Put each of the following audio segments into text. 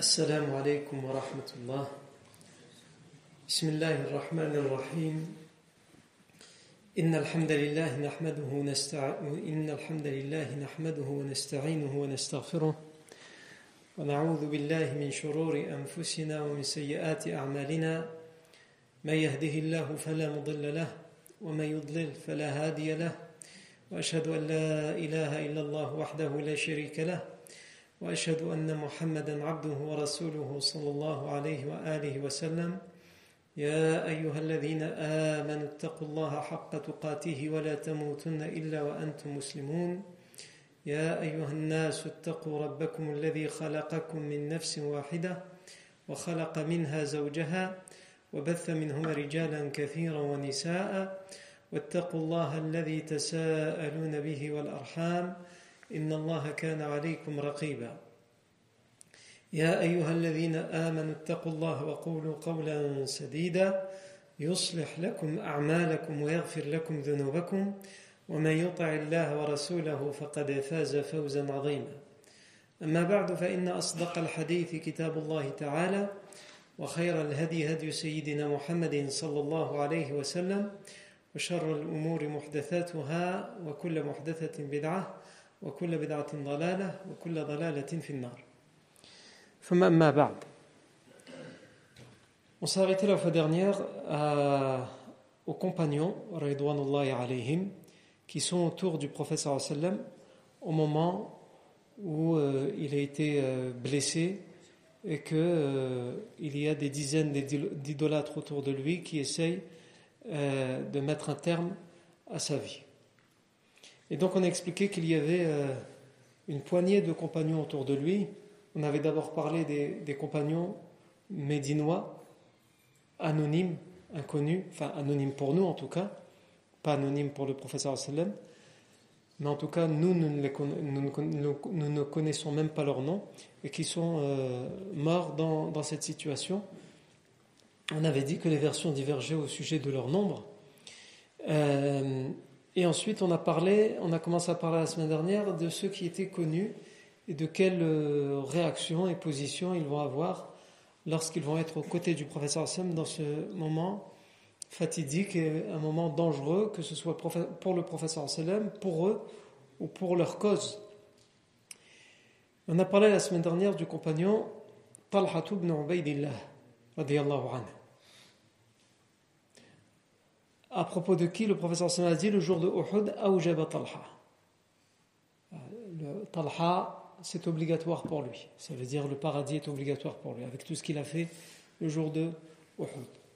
السلام عليكم ورحمة الله. بسم الله الرحمن الرحيم. إن الحمد لله نحمده ونستعينه ونستغفره ونعوذ بالله من شرور أنفسنا ومن سيئات أعمالنا. من يهده الله فلا مضل له ومن يضلل فلا هادي له، وأشهد أن لا إله إلا الله وحده لا شريك له، وأشهد أن محمدًا عبده ورسوله صلى الله عليه وآله وسلم. يا أيها الذين آمنوا اتقوا الله حق تقاته ولا تموتن إلا وأنتم مسلمون. يا أيها الناس اتقوا ربكم الذي خلقكم من نفس واحدة وخلق منها زوجها وبث منهما رجالا كثيرا ونساء، واتقوا الله الذي تساءلون به والأرحام إن الله كان عليكم رقيبا. يا أيها الذين آمنوا اتقوا الله وقولوا قولا سديدا يصلح لكم أعمالكم ويغفر لكم ذنوبكم، ومن يطع الله ورسوله فقد فاز فوزا عظيما. أما بعد، فإن أصدق الحديث كتاب الله تعالى، وخير الهدي هدي سيدنا محمد صلى الله عليه وسلم، وشر الأمور محدثاتها وكل محدثة بدعة وكل بدعة ضلالة وكل ضلالة في النار. ثم أما بعد. On s'est arrêté la fois dernière aux compagnons Ridwanullahi alayhim qui sont autour du prophète sallallahu alayhi wa sallam au moment où il a été blessé et qu'il y a des dizaines d'idolâtres autour de lui qui essayent de mettre un terme à sa vie. Et donc on a expliqué qu'il y avait une poignée de compagnons autour de lui. On avait d'abord parlé des compagnons médinois, anonymes, inconnus, enfin anonymes pour nous en tout cas, pas anonymes pour le prophète sallallahu alayhi wa sallam, mais en tout cas nous ne connaissons même pas leur nom et qui sont morts dans cette situation. On avait dit que les versions divergeaient au sujet de leur nombre. Et ensuite on a commencé à parler la semaine dernière de ceux qui étaient connus et de quelle réaction et position ils vont avoir lorsqu'ils vont être aux côtés du prophète sallallahu alayhi wa sallam dans ce moment fatidique et un moment dangereux, que ce soit pour le prophète sallallahu alayhi wa sallam, pour eux ou pour leur cause. On a parlé la semaine dernière du compagnon Talha ibn Ubaydillah radiyallahu anhu, à propos de qui le prophète sallallahu alayhi wa sallam a dit le jour de Uhud, Awjaba Talha. Talha, c'est obligatoire pour lui. Ça veut dire le paradis est obligatoire pour lui, avec tout ce qu'il a fait le jour de Uhud.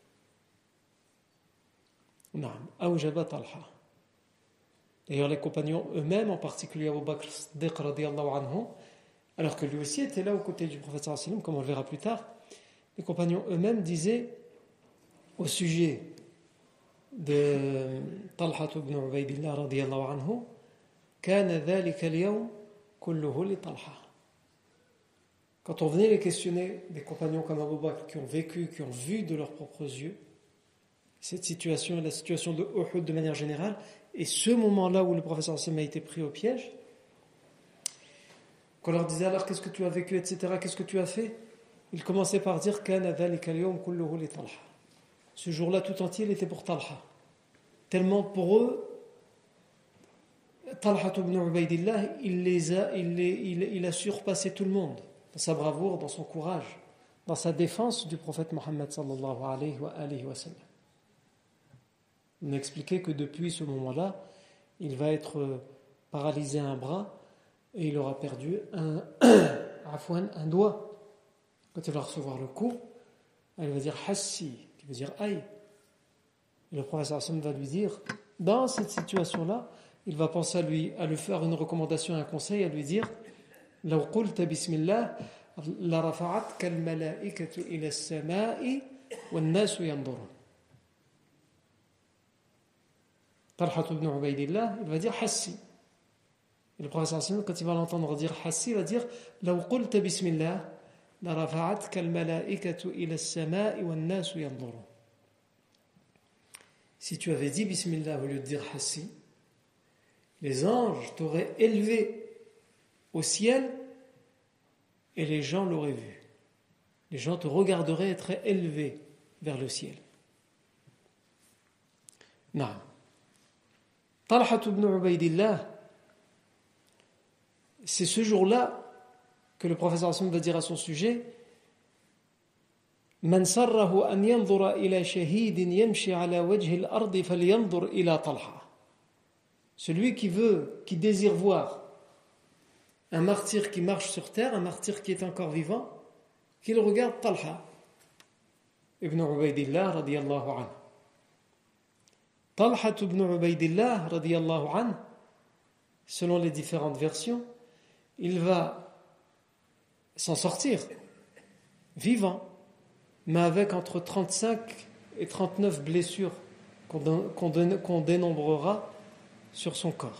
Naam, Awjaba Talha. D'ailleurs, les compagnons eux-mêmes, en particulier Abu Bakr Siddiq radiyallahu anhu, alors que lui aussi était là aux côtés du prophète sallallahu alayhi wa sallam, comme on le verra plus tard, les compagnons eux-mêmes disaient au sujet de Talha ibn Ubaydillah radiyallahu anhu, kana dhalika al-yawm kulluhu li Talha. Quand on venait les questionner, des compagnons comme Abu Bakr qui ont vécu, qui ont vu de leurs propres yeux cette situation, la situation de Uhud de manière générale, et ce moment-là où le prophète sallallahu alayhi wa sallam a été pris au piège, qu'on leur disait alors qu'est-ce que tu as vécu, etc., qu'est-ce que tu as fait, ils commençaient par dire kana dhalika al-yawm kulluhu li Talha. Ce jour-là tout entier, il était pour Talha. Tellement pour eux, Talha ibn Ubaydillah, il a surpassé tout le monde dans sa bravoure, dans son courage, dans sa défense du prophète Mohammed sallallahu alayhi wa sallam. On a expliqué que depuis ce moment-là, il va être paralysé à un bras et il aura perdu un doigt. Quand il va recevoir le coup, il va dire hassi, qui veut dire aïe. Et le prophète sallallahu alayhi wa sallam va lui dire, dans cette situation-là, il va penser à lui faire une recommandation, un conseil, à lui dire law qulta bismillah la rafa'atka al-mala'ikatu ila as-sama'i wan-nasu yanzurun. Talha ibn Ubaydillah, il va dire hassi. Et le prophète sallallahu alayhi wa sallam, quand il va l'entendre dire hassi, il va dire law qulta bismillah la rafa'atka al-mala'ikatu ila as-sama'i wan-nasu yanzurun. Si tu avais dit bismillah au lieu de dire hassi, les anges t'auraient élevé au ciel et les gens l'auraient vu. Les gens te regarderaient être élevés vers le ciel. Non. Talha ibn Ubaydillah, c'est ce jour-là que le professeur Hassan va dire à son sujet: Man sarrahu an yanzura ila shahidin yamshi ala wajhi al-ardi falyanzur ila Talha. Celui qui désire voir un martyr qui marche sur terre, un martyr qui est encore vivant, qu'il regarde Talha ibn Ubaydillah radiyallahu anhu. Talha ibn Ubaydillah radiyallahu anhu, selon les différentes versions, il va s'en sortir vivant, mais avec entre 35 et 39 blessures qu'on dénombrera sur son corps.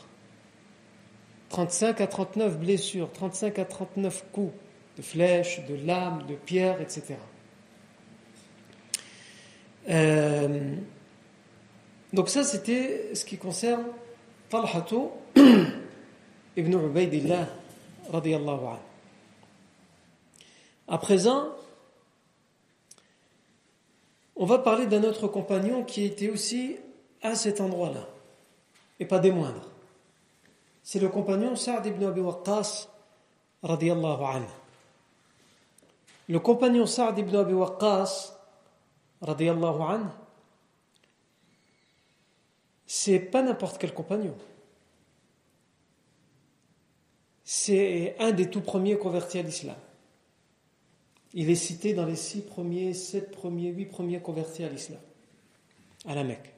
35 à 39 blessures, 35 à 39 coups de flèches, de lames, de pierres, etc. Donc ça, c'était ce qui concerne Talha ibn Ubaydillah radiyallahu anhu. À présent, on va parler d'un autre compagnon qui était aussi à cet endroit-là, et pas des moindres. C'est le compagnon Sa'd ibn Abi Waqqas radiyallahu anhu. Le compagnon Sa'd ibn Abi Waqqas radiyallahu anhu, c'est pas n'importe quel compagnon. C'est un des tout premiers convertis à l'islam. Il est cité dans les 6 premiers, 7 premiers, 8 premiers convertis à l'islam, à la Mecque.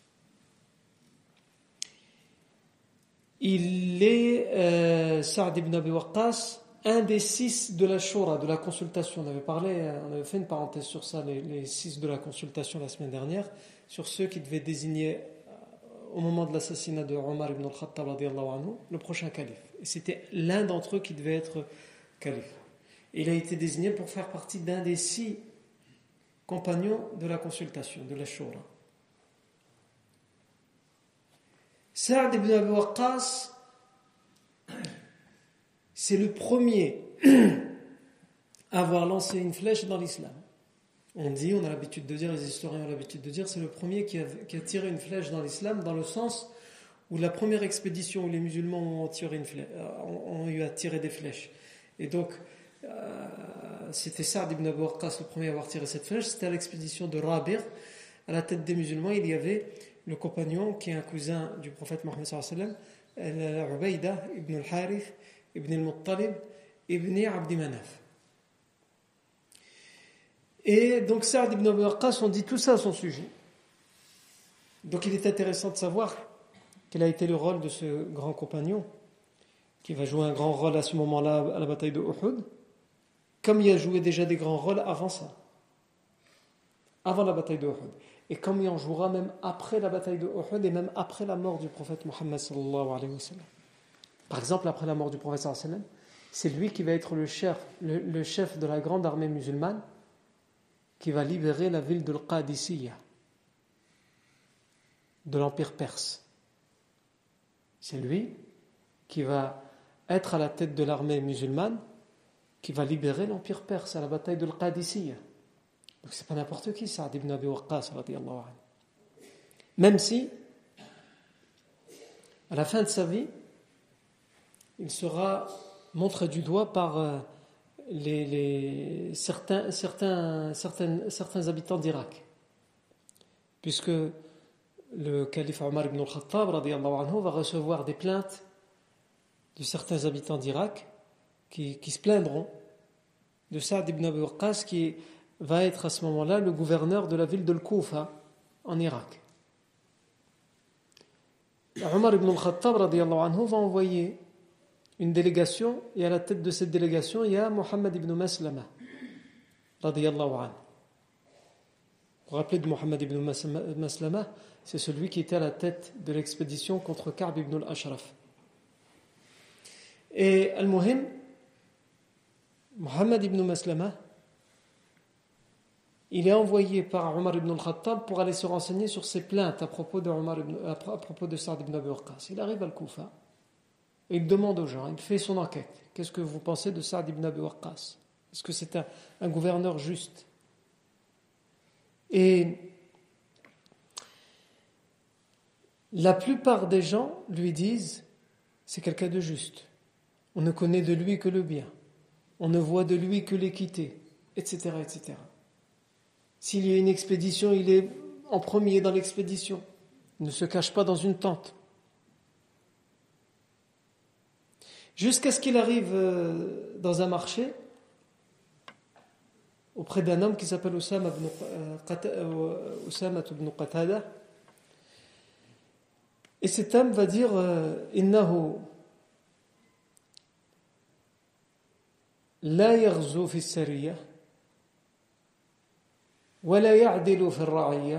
Il est, Sa'd ibn Abi Waqqas, un des 6 de la Shura, de la consultation. On avait fait une parenthèse sur ça, les 6 de la consultation la semaine dernière, sur ceux qui devaient désigner, au moment de l'assassinat de Omar ibn al-Khattab radiyallahu anhu, le prochain calife. Et c'était l'un d'entre eux qui devait être calife. Il a été désigné pour faire partie d'un des 6 compagnons de la consultation, de la Shura. Sa'd ibn Abi Waqqas, c'est le premier à avoir lancé une flèche dans l'islam. On a l'habitude de dire, les historiens ont l'habitude de dire, c'est le premier qui a tiré une flèche dans l'islam, dans le sens où la première expédition où les musulmans ont eu à tirer des flèches. Et donc, c'était Sa'd ibn Abi Waqqas le premier à avoir tiré cette flèche. C'était à l'expédition de Rabir. À la tête des musulmans, il y avait le compagnon qui est un cousin du prophète Mohammed sallallahu alayhi wa sallam, Ubaydah ibn al-Harith ibn al-Muttalib ibn Abdi Manaf. Et donc Sa'd ibn Abi Waqqas, on dit tout ça à son sujet. Donc il est intéressant de savoir quel a été le rôle de ce grand compagnon qui va jouer un grand rôle à ce moment-là à la bataille de Uhud, comme il a joué déjà des grands rôles avant ça, avant la bataille de Uhud, et comme il en jouera même après la bataille de Uhud et même après la mort du prophète Mohammed sallallahu alayhi wa sallam. Par exemple, après la mort du prophète sallallahu alayhi wa sallam, c'est lui qui va être le chef de la grande armée musulmane qui va libérer la ville de Al-Qadisiyya, de l'empire perse. C'est lui qui va être à la tête de l'armée musulmane qui va libérer l'empire perse à la bataille de Al-Qadisiyya. Donc c'est pas n'importe qui, Sa'd ibn Abi Waqqas radiyallahu anhu. Même si, à la fin de sa vie, il sera montré du doigt par certains habitants d'Irak, puisque le calife Omar ibn al-Khattab radiyallahu anhu va recevoir des plaintes de certains habitants d'Irak qui se plaindront de Sa'd ibn Abi Waqqas, qui va être à ce moment-là le gouverneur de la ville de Al-Koufa en Irak. Omar ibn al-Khattab radiyallahu anhu va envoyer une délégation, et à la tête de cette délégation, il y a Mohammed ibn Maslama radiyallahu anhu. Vous vous rappelez de Mohammed ibn Maslama, c'est celui qui était à la tête de l'expédition contre Ka'b ibn al-Ashraf. Et al-Muhim, Mohammed ibn Maslama, il est envoyé par Omar ibn al-Khattab pour aller se renseigner sur ses plaintes à propos de Sa'd ibn Abi Waqqas. Il arrive à Al-Koufa et il demande aux gens, il fait son enquête. Qu'est-ce que vous pensez de Sa'd ibn Abi Waqqas? Est-ce que c'est un gouverneur juste? Et la plupart des gens lui disent, c'est quelqu'un de juste. On ne connaît de lui que le bien. On ne voit de lui que l'équité, etc., etc. S'il y a une expédition, il est en premier dans l'expédition. Il ne se cache pas dans une tente. Jusqu'à ce qu'il arrive dans un marché auprès d'un homme qui s'appelle Usama ibn Qatada. Et cet homme va dire Innahu la yaghzu fi as-sariyah wa la ya'dilu fi ar-ra'iyah.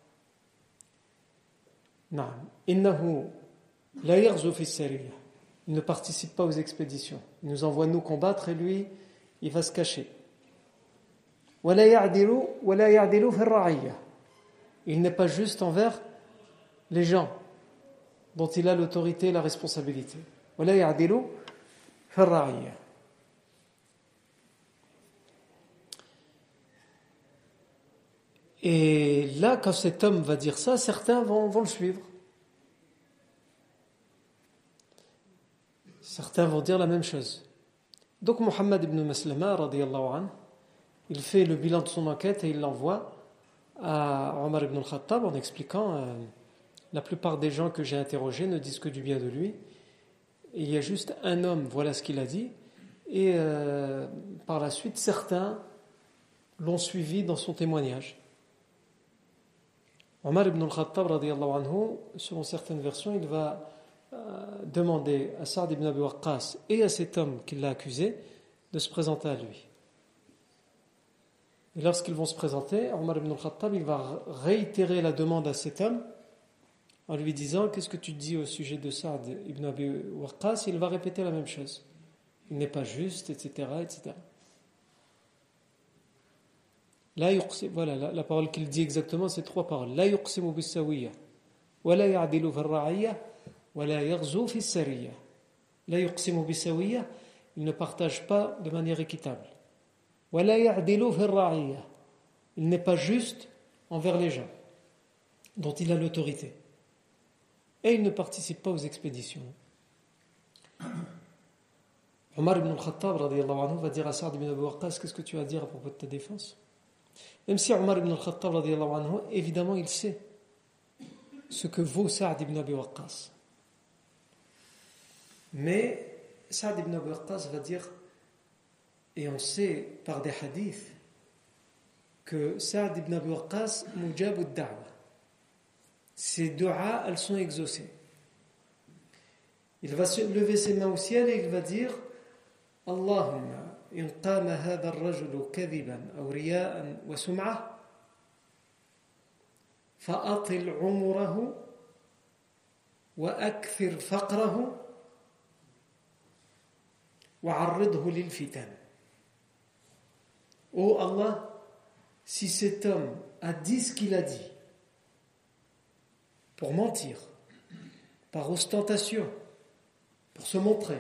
Naam, innahu la yaghzu fi as-sariyah. Il ne participe pas aux expéditions. Il nous envoie nous combattre et lui, il va se cacher. Wa la ya'dilu fi ar-ra'iyah. Il n'est pas juste envers les gens dont il a l'autorité et la responsabilité. ولا يعدل في الرعية. Et là, quand cet homme va dire ça, certains vont le suivre. Certains vont dire la même chose. Donc Muhammad ibn Maslama, radiyallahu anhu, il fait le bilan de son enquête et il l'envoie à Omar ibn al-Khattab en expliquant la plupart des gens que j'ai interrogés ne disent que du bien de lui. Et il y a juste un homme, voilà ce qu'il a dit. Et par la suite, certains l'ont suivi dans son témoignage. Omar ibn al-Khattab, radiyallahu anhu, selon certaines versions, il va demander à Sa'd ibn Abi Waqqas et à cet homme qui l'a accusé de se présenter à lui. Et lorsqu'ils vont se présenter, Omar ibn al-Khattab, il va réitérer la demande à cet homme en lui disant qu'est-ce que tu dis au sujet de Sa'd ibn Abi Waqqas. Il va répéter la même chose. Il n'est pas juste, etc., etc. Voilà, la parole qu'il dit exactement, c'est trois paroles. La yuqsimu bis-sawiyya, wa la ya'dilu fi ar-ra'iyya, wa la yaghzu fi as-sariyya. La yuqsimu bis-sawiyya, il ne partage pas de manière équitable. Wa la ya'dilu fi ar-ra'iyya, il n'est pas juste envers les gens dont il a l'autorité. Et il ne participe pas aux expéditions. Omar ibn al-Khattab, radiyallahu anhu, va dire à Sa'd ibn Abi Waqqas, qu'est-ce que tu as à dire à propos de ta défense? Même si Omar ibn al-Khattab, radiyallahu anhu, évidemment, il sait ce que vaut Sa'd ibn Abi Waqqas. Mais Sa'd ibn Abi Waqqas va dire, et on sait par des hadiths, que Sa'd ibn Abi Waqqas, mujab ad-da'wa. Ses du'a, elles sont exaucées. Il va lever ses mains au ciel et il va dire Allahumma in qama hadha ar-rajulu kadhiban aw riya'an wa sum'ah fa'atil 'umrahu wa akthir faqrahu wa 'arridhu lil fitan. Oh Allah, si cet homme a dit ce qu'il a dit pour mentir, par ostentation, pour se montrer,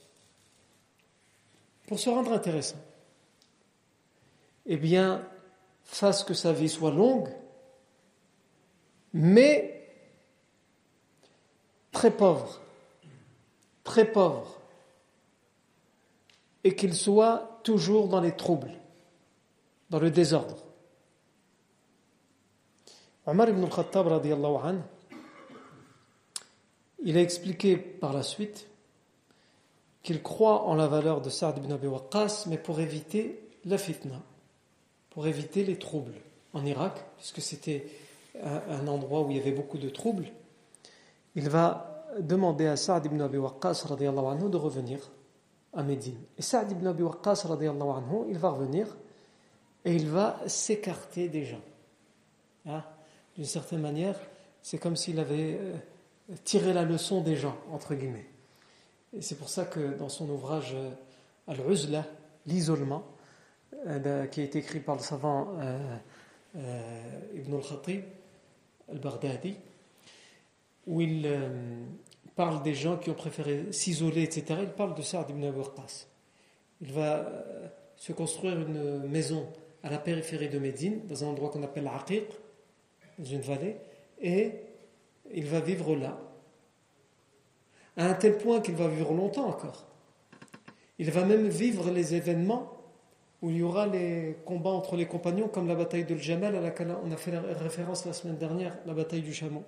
pour se rendre intéressant, eh bien, fasse que sa vie soit longue, mais très pauvre, et qu'il soit toujours dans les troubles, dans le désordre. Omar ibn al-Khattab, radiyallahu anhu, il a expliqué par la suite qu'il croit en la valeur de Sa'd ibn Abi Waqqas, mais pour éviter la fitna, pour éviter les troubles en Irak, puisque c'était un endroit où il y avait beaucoup de troubles, il va demander à Sa'd ibn Abi Waqqas, radiyallahu anhu, de revenir à Médine. Et Sa'd ibn Abi Waqqas, radiyallahu anhu, il va revenir et il va s'écarter des gens. D'une certaine manière, c'est comme s'il avait tiré la leçon des gens, entre guillemets. Et c'est pour ça que dans son ouvrage Al-Uzla, l'isolement, qui a été écrit par le savant Ibn al-Khatib al-Baghdadi, où il parle des gens qui ont préféré s'isoler, etc. Il parle de Sa'd ibn Abi Waqqas. Il va se construire une maison à la périphérie de Médine, dans un endroit qu'on appelle Aqiq, dans une vallée, et il va vivre là, à un tel point qu'il va vivre longtemps encore. Il va même vivre les événements où il y aura les combats entre les compagnons, comme la bataille de Jamal, à laquelle on a fait référence la semaine dernière, la bataille du chameau.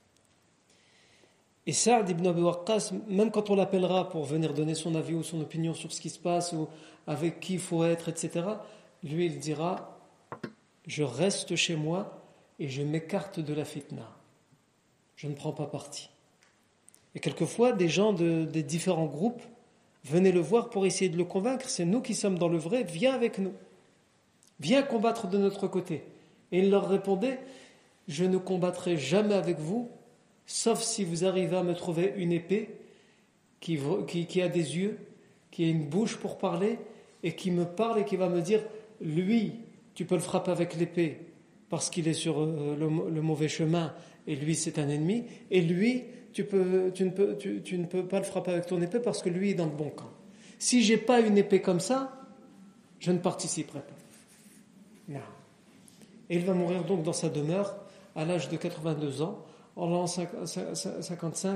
Et Sa'd ibn Abi Waqqas, même quand on l'appellera pour venir donner son avis ou son opinion sur ce qui se passe, ou avec qui il faut être, etc., lui, il dira « Je reste chez moi et je m'écarte de la fitna. Je ne prends pas parti. » Et quelquefois, des gens des différents groupes venaient le voir pour essayer de le convaincre. C'est nous qui sommes dans le vrai, viens avec nous. Viens combattre de notre côté. Et il leur répondait, je ne combattrai jamais avec vous, sauf si vous arrivez à me trouver une épée qui a des yeux, qui a une bouche pour parler, et qui me parle et qui va me dire, lui, tu peux le frapper avec l'épée parce qu'il est sur le mauvais chemin, et lui c'est un ennemi, et lui, tu ne peux pas le frapper avec ton épée parce que lui est dans le bon camp. Si j'ai pas une épée comme ça, je ne participerai pas. Non. Et il va mourir donc dans sa demeure à l'âge de 82 ans, en l'an 55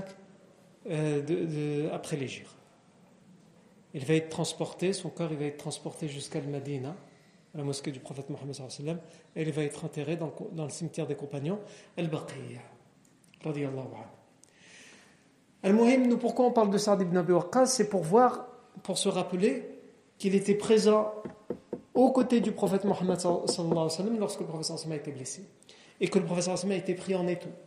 après l'Hégire. Il va être transporté, son corps il va être transporté jusqu'à Al-Madina, à la mosquée du prophète Mohammed sallallahu alayhi wa sallam, et il va être enterré dans le cimetière des compagnons, Al-Baqiyya, radiyallahu anhu. Al-Muhim, nous pourquoi on parle de Sa'd ibn Abi Waqqas, c'est pour se rappeler qu'il était présent aux côtés du prophète Mohammed sallallahu alayhi wa sallam lorsque le prophète sallallahu alayhi wa sallam a été blessé et que le prophète sallallahu alayhi wa sallam a été pris en étau.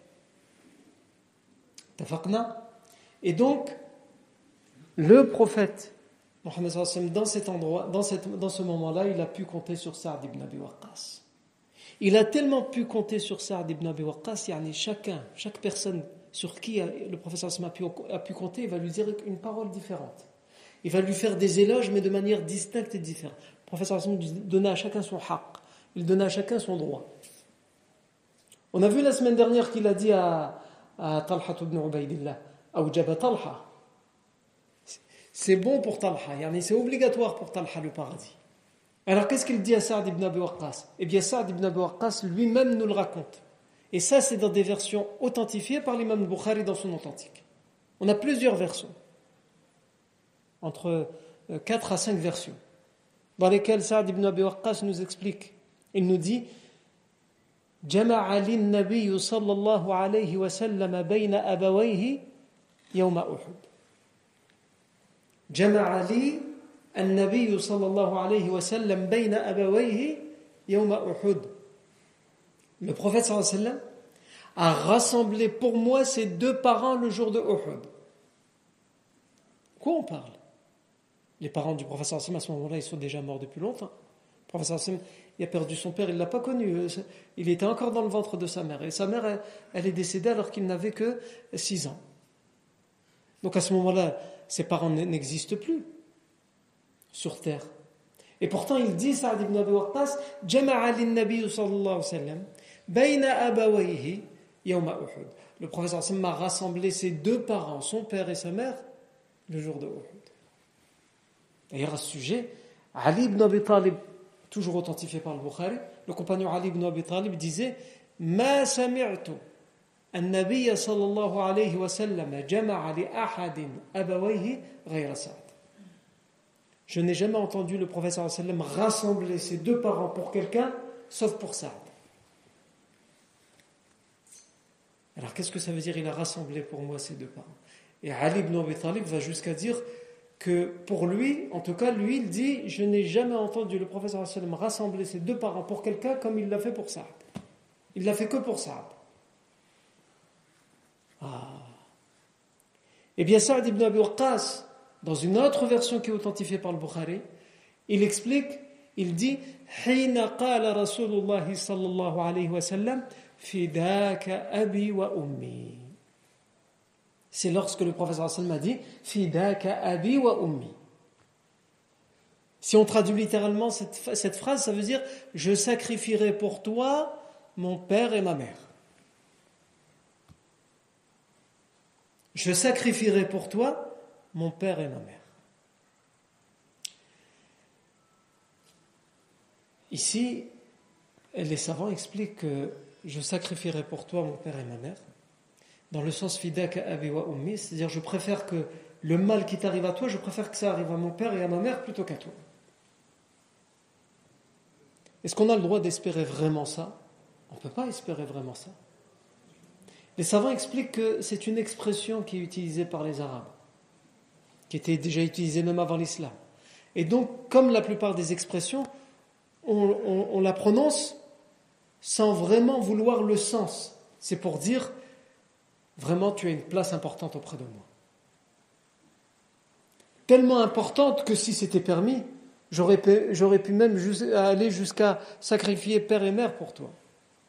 Tafaqna. Et donc, le prophète Mohammed sallallahu alayhi wa sallam, dans cet endroit, dans ce moment-là, il a pu compter sur Sa'd ibn Abi Waqqas. Il a tellement pu compter sur Sa'd ibn Abi Waqqas, chaque personne sur qui le professeur a pu compter, il va lui dire une parole différente. Il va lui faire des éloges, mais de manière distincte et différente. Le professeur donnait à chacun son haqq. Il donnait à chacun son droit. On a vu la semaine dernière qu'il a dit à Talha ibn Ubaydillah, Awjaba Talha. C'est bon pour Talha, c'est obligatoire pour Talha le paradis. Alors qu'est-ce qu'il dit à Sa'd ibn Abi Waqqas? Eh bien Sa'd ibn Abi Waqqas lui-même nous le raconte. Et ça, c'est dans des versions authentifiées par l'imam Bukhari dans son authentique. On a plusieurs versions, entre 4 à 5 versions, dans lesquelles Sa'd ibn Abi Waqqas nous explique. Il nous dit جمع لي النبي صلى الله عليه وسلم بين أبويه يوم أحد. جمع لي النبي صلى الله عليه وسلم بين أبويه يوم أحد. Le prophète sallallahu alayhi wa sallam a rassemblé pour moi ses deux parents le jour de Uhud. Quoi on parle? Les parents du prophète sallallahu alayhi wa sallam à ce moment-là, ils sont déjà morts depuis longtemps. Le prophète sallallahu alayhi wa sallam, il a perdu son père, il ne l'a pas connu. Il était encore dans le ventre de sa mère. Et sa mère, elle est décédée alors qu'il n'avait que 6 ans. Donc à ce moment-là, ses parents n'existent plus sur terre. Et pourtant, il dit, Sa'd ibn Abi Waqqas, Jama'a lin-Nabi sallallahu alayhi wa sallam, bayna abawayhi yawma Uhud. Le prophète sallallahu alayhi wa sallam a rassemblé ses deux parents, son père et sa mère, le jour de Uhud. D'ailleurs, à ce sujet, Ali ibn Abi Talib, toujours authentifié par le Bukhari, le compagnon Ali ibn Abi Talib disait, Ma sami'tu an-Nabiy sallallahu alayhi wa sallam jama'a li ahadin abawayhi ghayra Sa'd. Je n'ai jamais entendu le prophète sallallahu alayhi wa sallam rassembler ses deux parents pour quelqu'un, sauf pour Sa'd. Alors qu'est-ce que ça veut dire? Il a rassemblé pour moi ses deux parents. Et Ali ibn Abi Talib va jusqu'à dire que pour lui, en tout cas lui, il dit, je n'ai jamais entendu le prophète sallallahu alayhi wa sallam rassembler ses deux parents pour quelqu'un comme il l'a fait pour Sa'd. Il l'a fait que pour Sa'd. Eh bien Sa'd ibn Abi Waqqas, dans une autre version qui est authentifiée par le Bukhari, il explique, il dit Hina qala Rasulullah sallallahu alayhi wa sallam Fidaka abi wa ummi. C'est lorsque le prophète sallallahu alayhi wa sallam a dit Fidaka abi wa ummi. Si on traduit littéralement cette phrase, ça veut dire je sacrifierai pour toi mon père et ma mère. Je sacrifierai pour toi mon père et ma mère. Ici, les savants expliquent que je sacrifierai pour toi mon père et ma mère, dans le sens fidaka abi wa ummi, c'est-à-dire je préfère que le mal qui t'arrive à toi, je préfère que ça arrive à mon père et à ma mère plutôt qu'à toi. Est-ce qu'on a le droit d'espérer vraiment ça? On ne peut pas espérer vraiment ça. Les savants expliquent que c'est une expression qui est utilisée par les Arabes, qui était déjà utilisée même avant l'islam. Et donc, comme la plupart des expressions, on la prononce sans vraiment vouloir le sens. C'est pour dire, vraiment, tu as une place importante auprès de moi. Tellement importante que si c'était permis, j'aurais pu même aller jusqu'à sacrifier père et mère pour toi.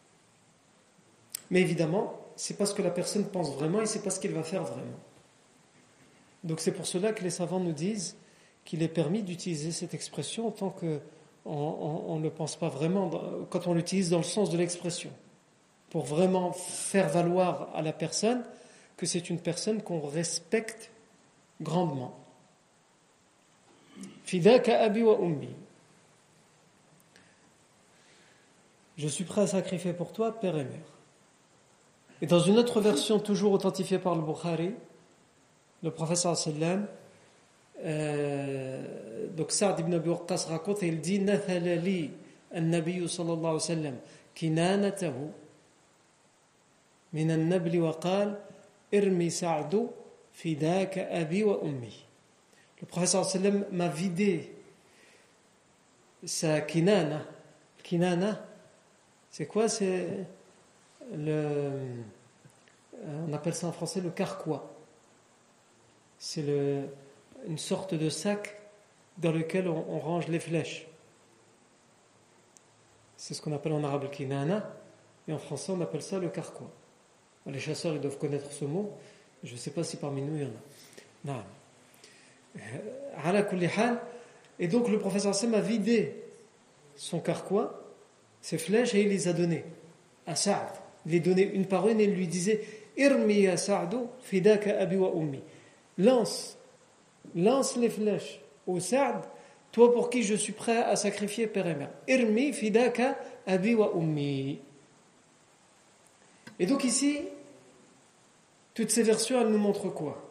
Mais évidemment, c'est pas ce que la personne pense vraiment et c'est pas ce qu'elle va faire vraiment. Donc c'est pour cela que les savants nous disent qu'il est permis d'utiliser cette expression tant qu'on ne le pense pas vraiment, quand on l'utilise dans le sens de l'expression, pour vraiment faire valoir à la personne que c'est une personne qu'on respecte grandement. Fidaka abi wa ummi. Je suis prêt à sacrifier pour toi père et mère. Et dans une autre version, toujours authentifiée par le Bukhari, le prophète sallallahu donc Sa'd ibn Abi Waqqas raconte et il dit nathala li an-nabiy sallallahu alayhi wa sallam kinanatahu min an-nabl wa qala irmi Sa'd fidaka abi wa ummi. Le prophète sallallahu alayhi wa sallam m'a vidé sa kinana. Kinana, c'est quoi? C'est on appelle ça en français le carquois. C'est une sorte de sac dans lequel on range les flèches. C'est ce qu'on appelle en arabe le kinana, et en français on appelle ça le carquois. Les chasseurs ils doivent connaître ce mot, je ne sais pas si parmi nous il y en a. Non. Ala kulli hal, et donc le professeur Sam a vidé son carquois, ses flèches, et il les a données à Sa'd. Il les donnait une par une et il lui disait Irmi ya Sa'du fidaka abi wa ummi. Lance les flèches au Sa'd, toi pour qui je suis prêt à sacrifier père et mère. Irmi fidaka abi wa ummi. Et donc ici, toutes ces versions, elles nous montrent quoi?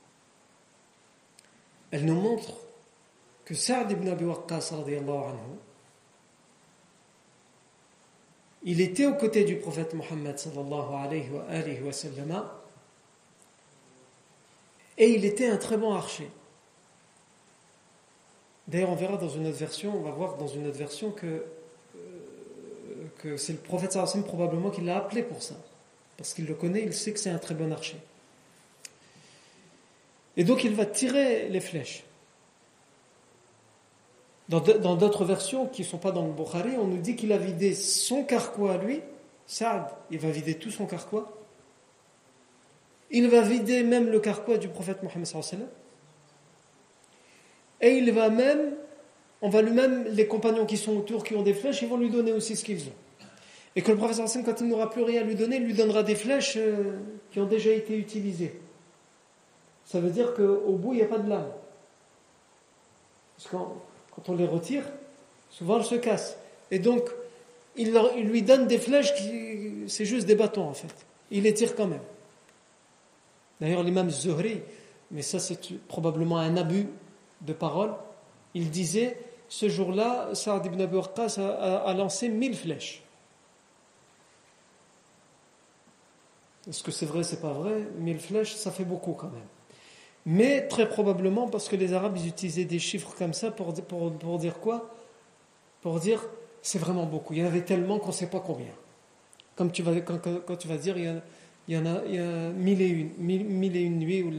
Elles nous montrent que Sa'd ibn Abi Waqqas radiyallahu anhu, il était aux côtés du prophète Mohammed sallallahu alayhi wa sallam, et il était un très bon archer. D'ailleurs, on verra dans une autre version, on va voir dans une autre version que c'est le prophète sallallahu alayhi wa sallam probablement qui l'a appelé pour ça. Parce qu'il le connaît, il sait que c'est un très bon archer. Et donc il va tirer les flèches. Dans d'autres versions qui ne sont pas dans le Bukhari, on nous dit qu'il a vidé son carquois à lui. Sa'd, il va vider tout son carquois. Il va vider même le carquois du prophète Mohammed sallallahu alayhi wa sallam. Et il va même, les compagnons qui sont autour, qui ont des flèches, ils vont lui donner aussi ce qu'ils ont. Et que le prophète sallallahu alayhi wa sallam, quand il n'aura plus rien à lui donner, il lui donnera des flèches qui ont déjà été utilisées. Ça veut dire qu'au bout, il n'y a pas de lame. Parce que quand on les retire, souvent elles se cassent. Et donc, il lui donne des flèches c'est juste des bâtons en fait. Il les tire quand même. D'ailleurs, l'imam Zuhri, mais ça c'est probablement un abus de parole, il disait, ce jour-là, Sa'd ibn Abi Waqqas a lancé 1000 flèches. Est-ce que c'est vrai, c'est pas vrai? 1000 flèches, ça fait beaucoup quand même. Mais très probablement parce que les Arabes ils utilisaient des chiffres comme ça pour dire quoi? Pour dire c'est vraiment beaucoup. Il y en avait tellement qu'on ne sait pas combien. Comme quand tu vas dire il y a 1001 nuits où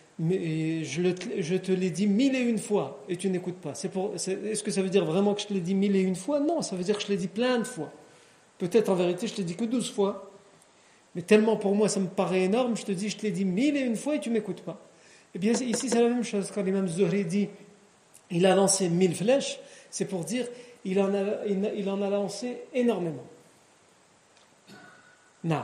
je te l'ai dit 1001 fois et tu n'écoutes pas. Est-ce que ça veut dire vraiment que je te l'ai dit 1001 fois? Non, ça veut dire que je l'ai dit plein de fois. Peut-être en vérité je te l'ai dit que 12 fois. Mais tellement pour moi ça me paraît énorme, je te dis je te l'ai dit 1001 fois et tu ne m'écoutes pas. Eh bien, ici, c'est la même chose. Quand l'imam Zuhri dit il a lancé 1000 flèches, c'est pour dire il en a lancé énormément. Non.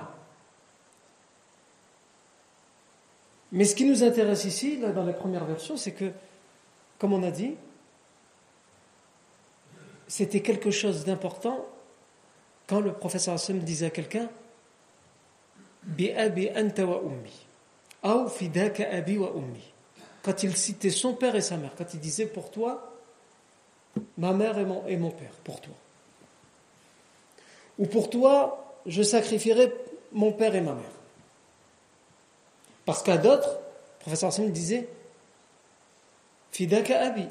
Mais ce qui nous intéresse ici, là, dans la première version, c'est que, comme on a dit, c'était quelque chose d'important quand le professeur sallam disait à quelqu'un bi abi anta wa ummi ou fidaka abi wa ummi, quand il citait son père et sa mère, quand il disait pour toi ma mère et mon père, pour toi, ou pour toi je sacrifierai mon père et ma mère. Parce qu'à d'autres, le professeur sallam disait fidaka abi,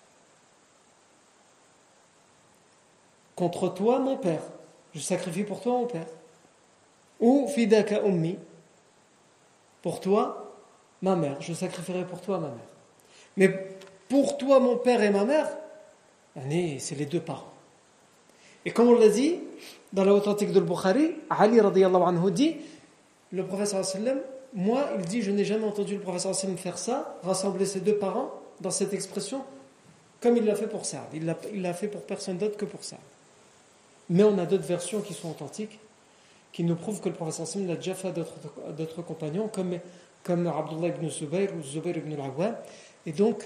contre toi mon père, je sacrifie pour toi mon père. Ou fidaka ummi, pour toi ma mère, je sacrifierai pour toi ma mère. Mais pour toi mon père et ma mère, c'est les deux parents. Et comme on l'a dit dans l'authentique de Bukhari, Ali radiyallahu anhu dit, le professeur sallam, moi il dit, je n'ai jamais entendu le professeur sallam faire ça, rassembler ses deux parents dans cette expression, comme il l'a fait pour Saad. Il l'a fait pour personne d'autre que pour Saad. Mais on a d'autres versions qui sont authentiques, qui nous prouvent que le professeur sallam l'a déjà fait à d'autres compagnons, comme Abdullah ibn Zubayr ou Zubayr ibn al-Awwam. Et donc,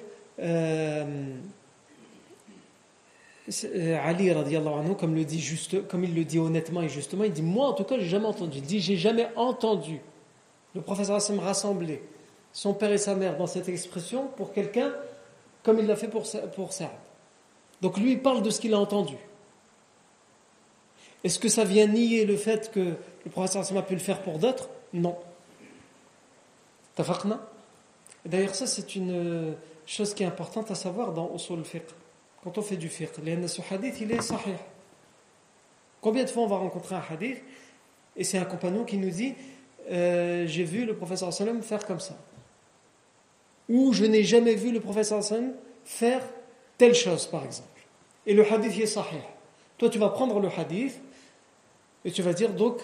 Ali radiyallahu anhu, comme il le dit honnêtement et justement, il dit, moi en tout cas, j'ai jamais entendu. Il dit, j'ai jamais entendu le professeur sallam rassembler son père et sa mère dans cette expression pour quelqu'un comme il l'a fait pour Saad. Donc lui, il parle de ce qu'il a entendu. Est-ce que ça vient nier le fait que le professeur sallam a pu le faire pour d'autres? Non. Tafaqna? D'ailleurs, ça, c'est une chose qui est importante à savoir dans Usul al-Fiqh. Quand on fait du fiqh, ce hadith, il est sahih. Combien de fois on va rencontrer un hadith et c'est un compagnon qui nous dit j'ai vu le professeur sallam faire comme ça, ou je n'ai jamais vu le professeur sallam faire telle chose, par exemple, et le hadith est sahih. Toi tu vas prendre le hadith et tu vas dire, donc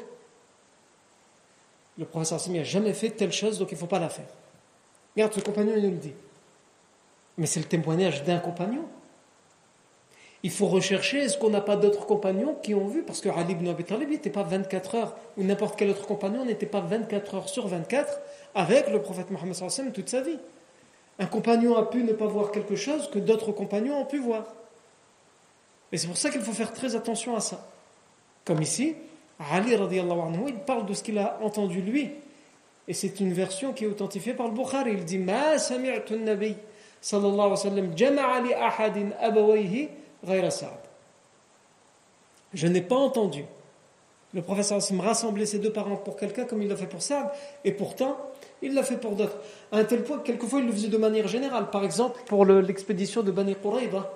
le professeur sallam n'a jamais fait telle chose, donc il ne faut pas la faire. Regarde, ce compagnon il nous le dit, mais c'est le témoignage d'un compagnon. Il faut rechercher, est-ce qu'on n'a pas d'autres compagnons qui ont vu, parce que Ali ibn Abi Talib n'était pas 24 heures, ou n'importe quel autre compagnon n'était pas 24 heures sur 24 avec le prophète Mohammed sallallahu alayhi wa sallam toute sa vie. Un compagnon a pu ne pas voir quelque chose que d'autres compagnons ont pu voir. Et c'est pour ça qu'il faut faire très attention à ça. Comme ici, Ali radiyallahu anhu, il parle de ce qu'il a entendu lui. Et c'est une version qui est authentifiée par le Bukhari. Il dit, Ma sami'tu an-nabi sallallahu alayhi wa sallam jama'a li ahadin abawayhi ghayra Sa'd. Je n'ai pas entendu le professeur me rassembler ses deux parents pour quelqu'un comme il l'a fait pour Sa'd, et pourtant il l'a fait pour d'autres. À un tel point que quelquefois il le faisait de manière générale. Par exemple, pour l'expédition de Bani Qurayza,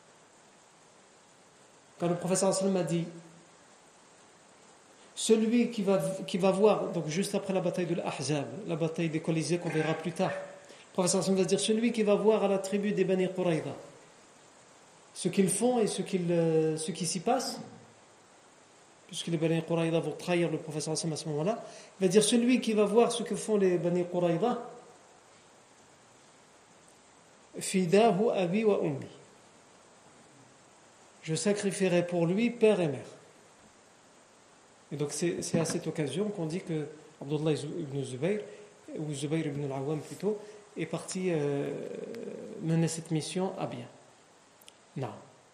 quand le professeur a dit, celui qui va voir, donc juste après la bataille de l'Ahzab, la bataille des Colisées qu'on verra plus tard, le professeur va dire, celui qui va voir à la tribu des Bani Qurayza ce qu'ils font et ce qui s'y passe, puisque les Bani Qurayza vont trahir le professeur à ce moment-là, il va dire, celui qui va voir ce que font les Bani Qurayza, fidahu abi wa ummi, je sacrifierai pour lui père et mère. Et donc c'est à cette occasion qu'on dit que Abdullah ibn Zubayr, ou Zubayr ibn al-Awwam plutôt, est parti mener cette mission à bien. Non.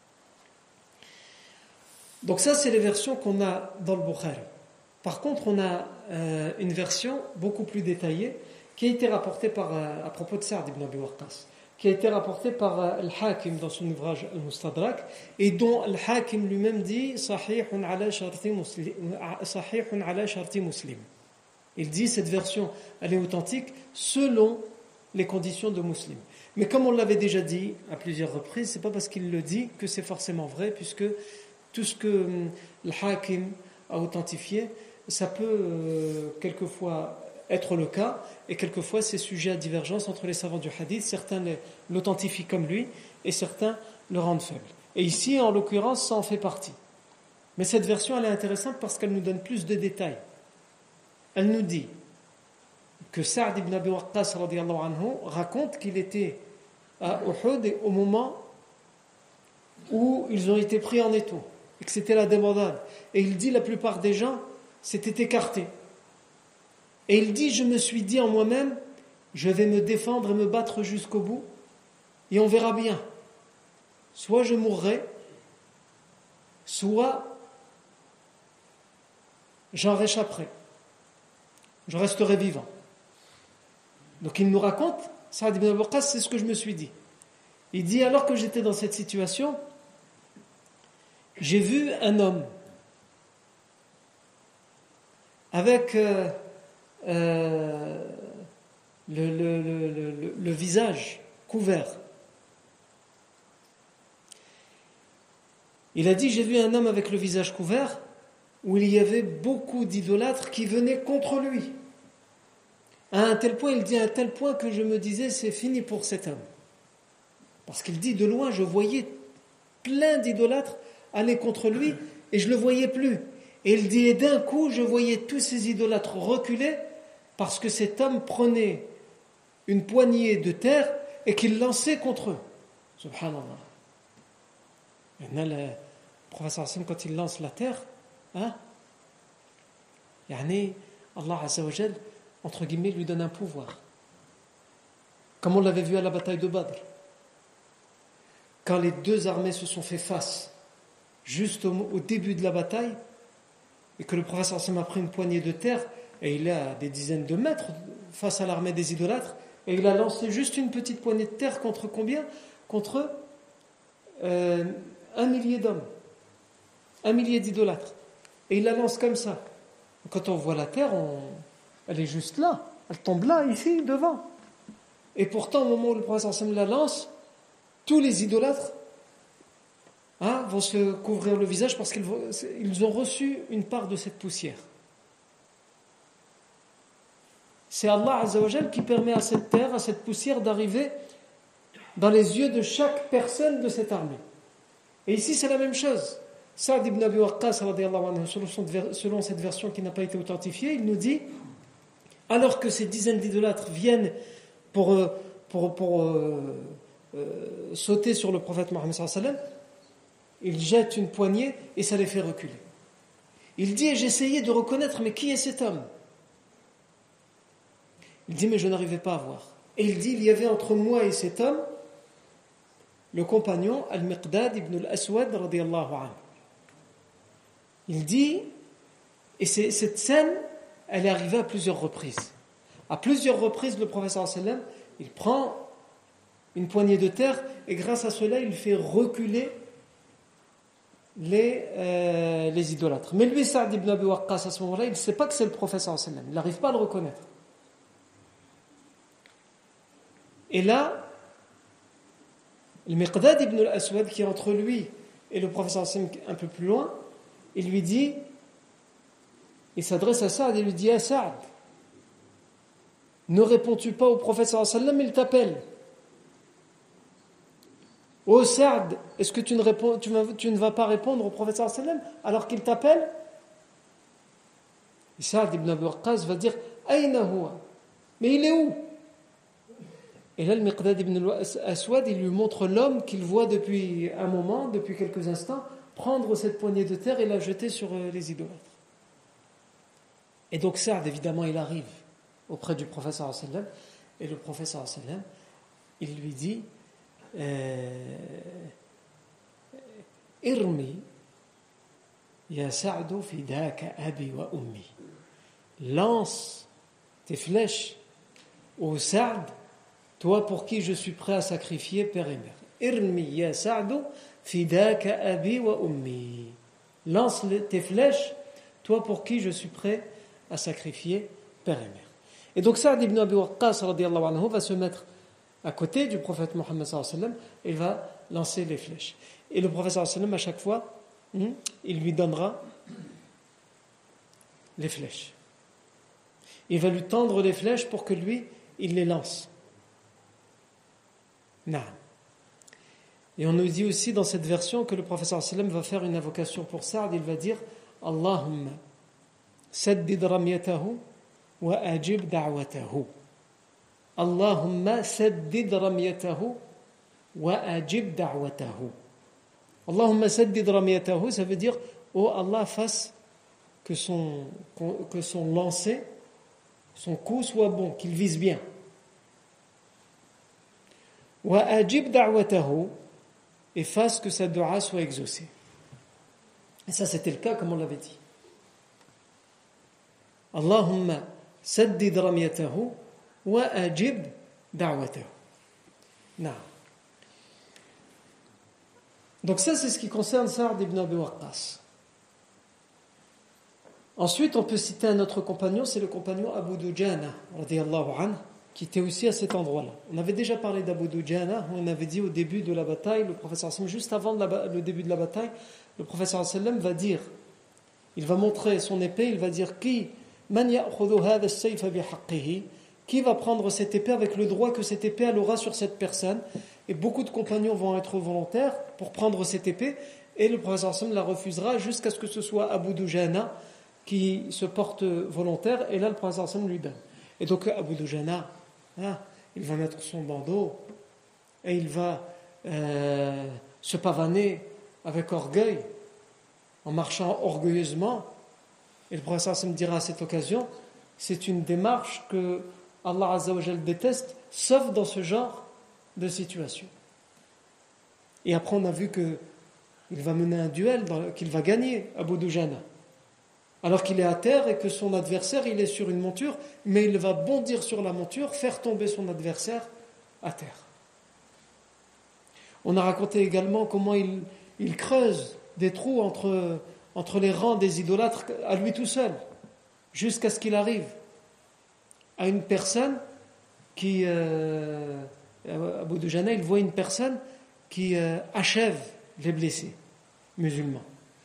Donc ça, c'est les versions qu'on a dans le Bukhari. Par contre, on a une version beaucoup plus détaillée qui a été rapportée à propos de Sa'd ibn Abi Waqqas, qui a été rapportée par Al-Hakim dans son ouvrage Al-Mustadrak, et dont Al-Hakim lui-même dit Sahihun ala sharti muslim. Il dit, cette version, elle est authentique selon les conditions de Muslim. Mais comme on l'avait déjà dit à plusieurs reprises, c'est pas parce qu'il le dit que c'est forcément vrai, puisque tout ce que Al-Hakim a authentifié, ça peut quelquefois être le cas, et quelquefois c'est sujet à divergence entre les savants du hadith. Certains l'authentifient comme lui, et certains le rendent faible. Et ici, en l'occurrence, ça en fait partie. Mais cette version, elle est intéressante parce qu'elle nous donne plus de détails. Elle nous dit que Sa'd ibn Abi Waqqas radiyallahu anhu raconte qu'il était à Uhud au moment où ils ont été pris en étau, et que c'était la débandade. Et il dit, la plupart des gens s'étaient écartés. Et il dit, je me suis dit en moi-même, je vais me défendre et me battre jusqu'au bout, et on verra bien. Soit je mourrai, soit j'en réchapperai, je resterai vivant. Donc il nous raconte, Saad ibn Abi Waqqas, c'est ce que je me suis dit. Il dit, alors que j'étais dans cette situation, j'ai vu un homme avec le visage couvert. Il a dit, j'ai vu un homme avec le visage couvert où il y avait beaucoup d'idolâtres qui venaient contre lui. À un tel point, il dit, à un tel point que je me disais, c'est fini pour cet homme. Parce qu'il dit, de loin, je voyais plein d'idolâtres aller contre lui et je ne le voyais plus. Et il dit, et d'un coup, je voyais tous ces idolâtres reculer parce que cet homme prenait une poignée de terre et qu'il lançait contre eux. Subhanallah. Maintenant, le professeur Hassan, quand il lance la terre, Allah Azza wa Jal, entre guillemets, lui donne un pouvoir. Comme on l'avait vu à la bataille de Badr. Quand les deux armées se sont fait face, juste au début de la bataille, et que le prophète Hassan a pris une poignée de terre, et il est à des dizaines de mètres face à l'armée des idolâtres, et il a lancé juste une petite poignée de terre contre combien ? Contre 1 millier d'hommes, 1 millier d'idolâtres. Et il la lance comme ça. Quand on voit la terre, elle est juste là, elle tombe là, ici, devant. Et pourtant, au moment où le prophète Hassan la lance, tous les idolâtres vont se couvrir le visage parce qu'ils ont reçu une part de cette poussière. C'est Allah Azza wa Jal qui permet à cette terre, à cette poussière d'arriver dans les yeux de chaque personne de cette armée. Et ici c'est la même chose. Saad ibn Abi Waqqas, selon cette version qui n'a pas été authentifiée, il nous dit, alors que ces dizaines d'idolâtres viennent pour sauter sur le prophète Mohammed sallallahu alayhi wa sallam, il jette une poignée et ça les fait reculer. Il dit, et j'essayais de reconnaître, mais qui est cet homme ? Il dit, mais je n'arrivais pas à voir. Et il dit, il y avait entre moi et cet homme le compagnon Al-Miqdad ibn al-Aswad radiyallahu anhu. Il dit, et cette scène, elle est arrivée à plusieurs reprises. À plusieurs reprises, le prophète sallallahu alayhi wa sallam, il prend une poignée de terre et grâce à cela, il fait reculer les idolâtres. Mais lui, Saad ibn Abi Waqqas, à ce moment-là, il ne sait pas que c'est le prophète sallallahu alayhi wa sallam. Il n'arrive pas à le reconnaître. Et là, le Miqdad ibn al-Aswad, qui est entre lui et le prophète sallallahu alayhi wa sallam un peu plus loin, il lui dit, il s'adresse à Saad et lui dit, ah Saad, ne réponds-tu pas au prophète sallallahu alayhi wa sallam, il t'appelle. Oh Saad, est-ce que tu ne vas pas répondre au prophète sallallahu alayhi wa sallam alors qu'il t'appelle? Et Saad ibn Abi Waqqas va dire, Aïna huwa, mais il est où? Et là, le Miqdad ibn al-Aswad, il lui montre l'homme qu'il voit depuis un moment, depuis quelques instants, prendre cette poignée de terre et la jeter sur les idolâtres. Et donc Saad, évidemment, il arrive auprès du prophète sallallahu alayhi wa sallam, et le prophète sallallahu alayhi wa sallam, il lui dit, Irmi ya Sa'du fidaka abi wa ummi. Lance tes flèches au Sa'd, toi pour qui je suis prêt à sacrifier père et mère. Irmi ya Sa'du fidaka abi wa ummi. Lance tes flèches, toi pour qui je suis prêt à sacrifier père et mère. Et donc Sa'd ibn Abi Waqqas radiyallahu anhu va se mettre à côté du prophète Mohammed sallallahu alayhi wa sallam et va lancer les flèches. Et le prophète sallallahu alayhi wa sallam, à chaque fois, il lui donnera les flèches. Il va lui tendre les flèches pour que lui, il les lance. Naam. Et on nous dit aussi dans cette version que le prophète sallallahu alayhi wa sallam va faire une invocation pour Saad. Il va dire Allahumma saddid ramyatahu wa ajib da'watahu. Allahumma saddid ramyatahu wa ajib da'watahu. Allahumma saddid ramyatahu, ça veut dire oh Allah, fasse que son lancer, son coup soit bon, qu'il vise bien. Wa ajib da'watahu, et fasse que sa dua soit exaucée. Et ça, c'était le cas, comme on l'avait dit. Allahumma saddid ramyatahu wa ajib da'watahu. Non. Donc ça, c'est ce qui concerne Sa'd ibn Abi Waqqas. Ensuite, on peut citer un autre compagnon, c'est le compagnon Abu Dujana, radiyallahu anhu, qui était aussi à cet endroit-là. On avait déjà parlé d'Abu Dujana, on avait dit au début de la bataille, le prophète sallam, juste avant le début de la bataille, le prophète sallam va dire, il va montrer son épée, il va dire qui va prendre cette épée avec le droit que cette épée elle aura sur cette personne. Et beaucoup de compagnons vont être volontaires pour prendre cette épée, et le prophète sallam la refusera jusqu'à ce que ce soit Abu Dujana qui se porte volontaire, et là le prophète sallam lui donne. Et donc Abu Dujana, il va mettre son bandeau et il va se pavaner avec orgueil, en marchant orgueilleusement. Et le prophète sallam dira à cette occasion, c'est une démarche que Allah Azza wa Jal déteste, sauf dans ce genre de situation. Et après on a vu qu'il va mener un duel qu'il va gagner, Abu Dujana, alors qu'il est à terre et que son adversaire il est sur une monture, mais il va bondir sur la monture, faire tomber son adversaire à terre. On a raconté également comment il creuse des trous entre les rangs des idolâtres à lui tout seul, jusqu'à ce qu'il arrive à une personne qui, Abu Dujana, il voit une personne qui achève les blessés musulmans.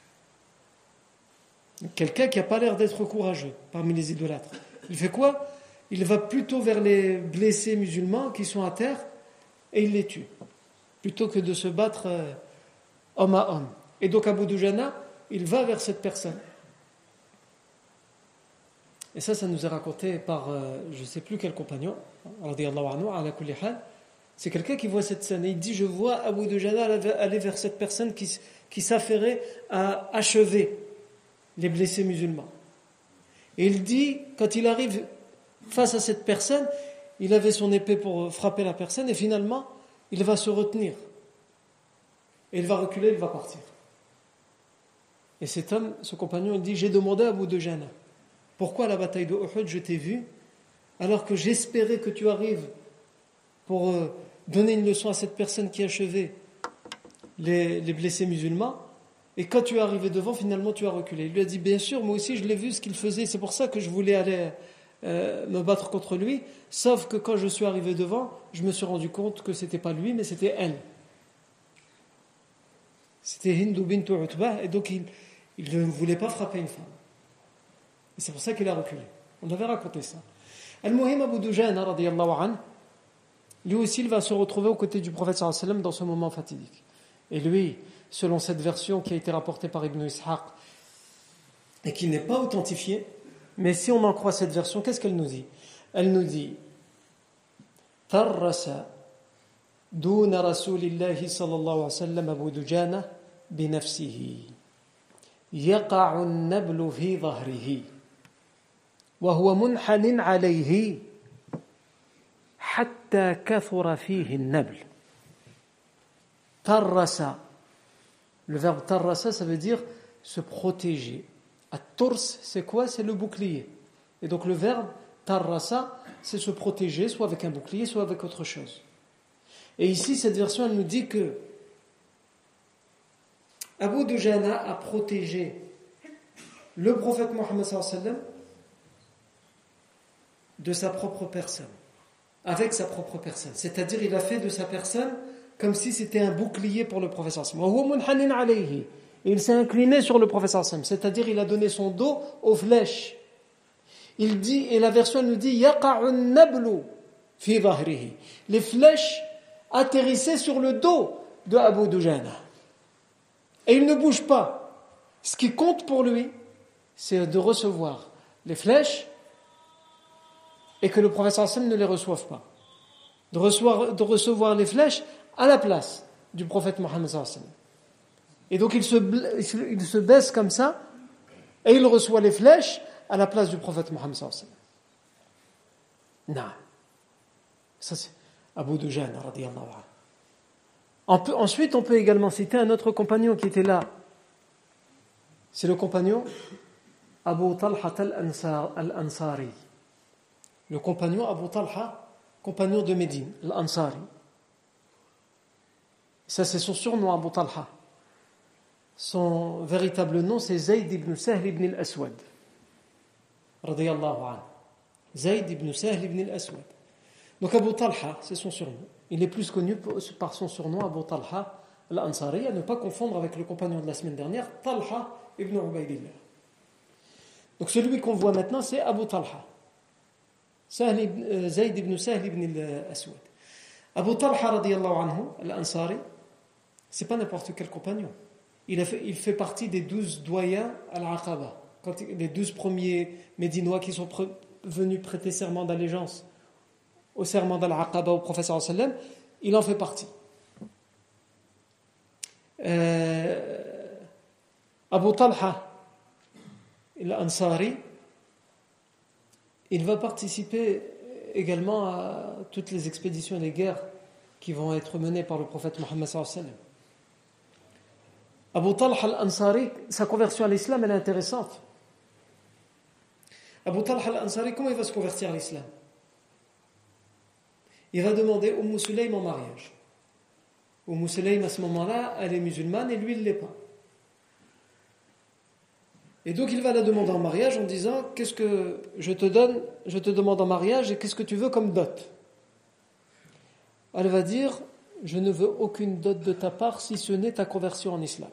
Quelqu'un qui n'a pas l'air d'être courageux parmi les idolâtres. Il fait quoi? Il va plutôt vers les blessés musulmans qui sont à terre et il les tue, plutôt que de se battre homme à homme. Et donc Abu Dujana, il va vers cette personne. Et ça nous est raconté par je ne sais plus quel compagnon, radiyallahu anhu, ala kulli hal. C'est quelqu'un qui voit cette scène et il dit, je vois Abu Dujana aller vers cette personne qui s'affairait à achever les blessés musulmans. Et il dit, quand il arrive face à cette personne, il avait son épée pour frapper la personne et finalement, il va se retenir. Et il va reculer, il va partir. Et cet homme, ce compagnon, il dit, j'ai demandé à Abu Dujana, pourquoi à la bataille de Uhud je t'ai vu, alors que j'espérais que tu arrives pour donner une leçon à cette personne qui achevait les blessés musulmans, et quand tu es arrivé devant, finalement tu as reculé. Il lui a dit, bien sûr, moi aussi je l'ai vu ce qu'il faisait, c'est pour ça que je voulais aller me battre contre lui, sauf que quand je suis arrivé devant, je me suis rendu compte que c'était pas lui, mais c'était elle. C'était Hindu bint Utbah, et donc il ne voulait pas frapper une femme. Et c'est pour ça qu'il a reculé. On avait raconté ça. Al-Muhim Abu Dujana, radiyallahu anhu, lui aussi il va se retrouver aux côtés du prophète sallallahu alayhi wa sallam dans ce moment fatidique. Et lui, selon cette version qui a été rapportée par Ibn Ishaq et qui n'est pas authentifiée, mais si on en croit cette version, qu'est-ce qu'elle nous dit? Elle nous dit Tarrasa duna rasulillahi sallallahu alayhi wa sallam Abu Dujana binafsihi yaqa'u an-nablu fi dhahrihi wa huwa munhanin alayhi hatta kathura fihi an-nabl. Tarrasa. Le verbe tarrasa, ça veut dire se protéger. At-turs, c'est quoi? C'est le bouclier. Et donc le verbe tarrasa, c'est se protéger, soit avec un bouclier, soit avec autre chose. Et ici, cette version, elle nous dit que Abu Dujana a protégé le prophète Mohammed sallallahu alayhi wa sallam de sa propre personne, avec sa propre personne. C'est-à-dire, il a fait de sa personne comme si c'était un bouclier pour le prophète sallallahu alayhi wa sallam. Et il s'est incliné sur le prophète sallallahu alayhi wa sallam, c'est-à-dire il a donné son dos aux flèches. Il dit, et la version nous dit, yaqa'u nablu fi dhahrihi. Les flèches atterrissaient sur le dos de Abu Dujana. Et il ne bouge pas. Ce qui compte pour lui, c'est de recevoir les flèches et que le prophète sallallahu alayhi wa sallam ne les reçoive pas. De recevoir les flèches à la place du prophète Mohammed sallallahu alayhi wa sallam. Et donc il se baisse comme ça et il reçoit les flèches à la place du prophète Mohammed sallallahu alayhi wa sallam. Non. Ça c'est Abu Dujana radiyallahu anhu. Ensuite on peut également citer un autre compagnon qui était là c'est le compagnon Abu Talha al-Ansari. Le compagnon Abu Talha, compagnon de Médine, al-Ansari. Ça, c'est son surnom, Abu Talha. Son véritable nom, c'est Zayd ibn Sahl ibn al-Aswad. Radiyallahu anhu. Zayd ibn Sahl ibn al-Aswad. Donc Abu Talha, c'est son surnom. Il est plus connu par son surnom Abu Talha al-Ansari, à ne pas confondre avec le compagnon de la semaine dernière, Talha ibn Ubaydillah. Donc celui qu'on voit maintenant, c'est Abu Talha. Zayd ibn Sahl ibn al-Aswad. Abu Talha radiyallahu anhu, al-Ansari, c'est pas n'importe quel compagnon. Il fait partie des 12 doyens à l'Aqaba. Les 12 premiers Médinois qui sont venus prêter serment d'allégeance au serment d'Al-Aqaba au prophète sallallahu alayhi wa sallam, il en fait partie. Abu Talha al-Ansari, il va participer également à toutes les expéditions et les guerres qui vont être menées par le prophète Mohammed sallallahu alayhi wa sallam. Abu Talha al-Ansari, sa conversion à l'islam, elle est intéressante. Abu Talha al-Ansari, comment il va se convertir à l'islam? Il va demander Sulaym en mariage. Sulaym, à ce moment-là, elle est musulmane et lui, il ne l'est pas. Et donc, il va la demander en mariage en disant: qu'est-ce que je te donne? Je te demande en mariage et qu'est-ce que tu veux comme dot? Elle va dire: je ne veux aucune dot de ta part si ce n'est ta conversion en islam.